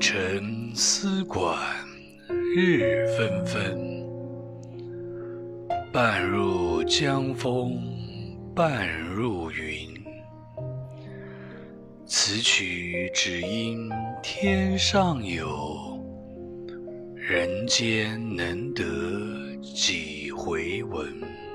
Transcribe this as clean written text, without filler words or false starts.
城丝管日纷纷，半入江风半入云。此曲只应天上有，人间能得几回闻。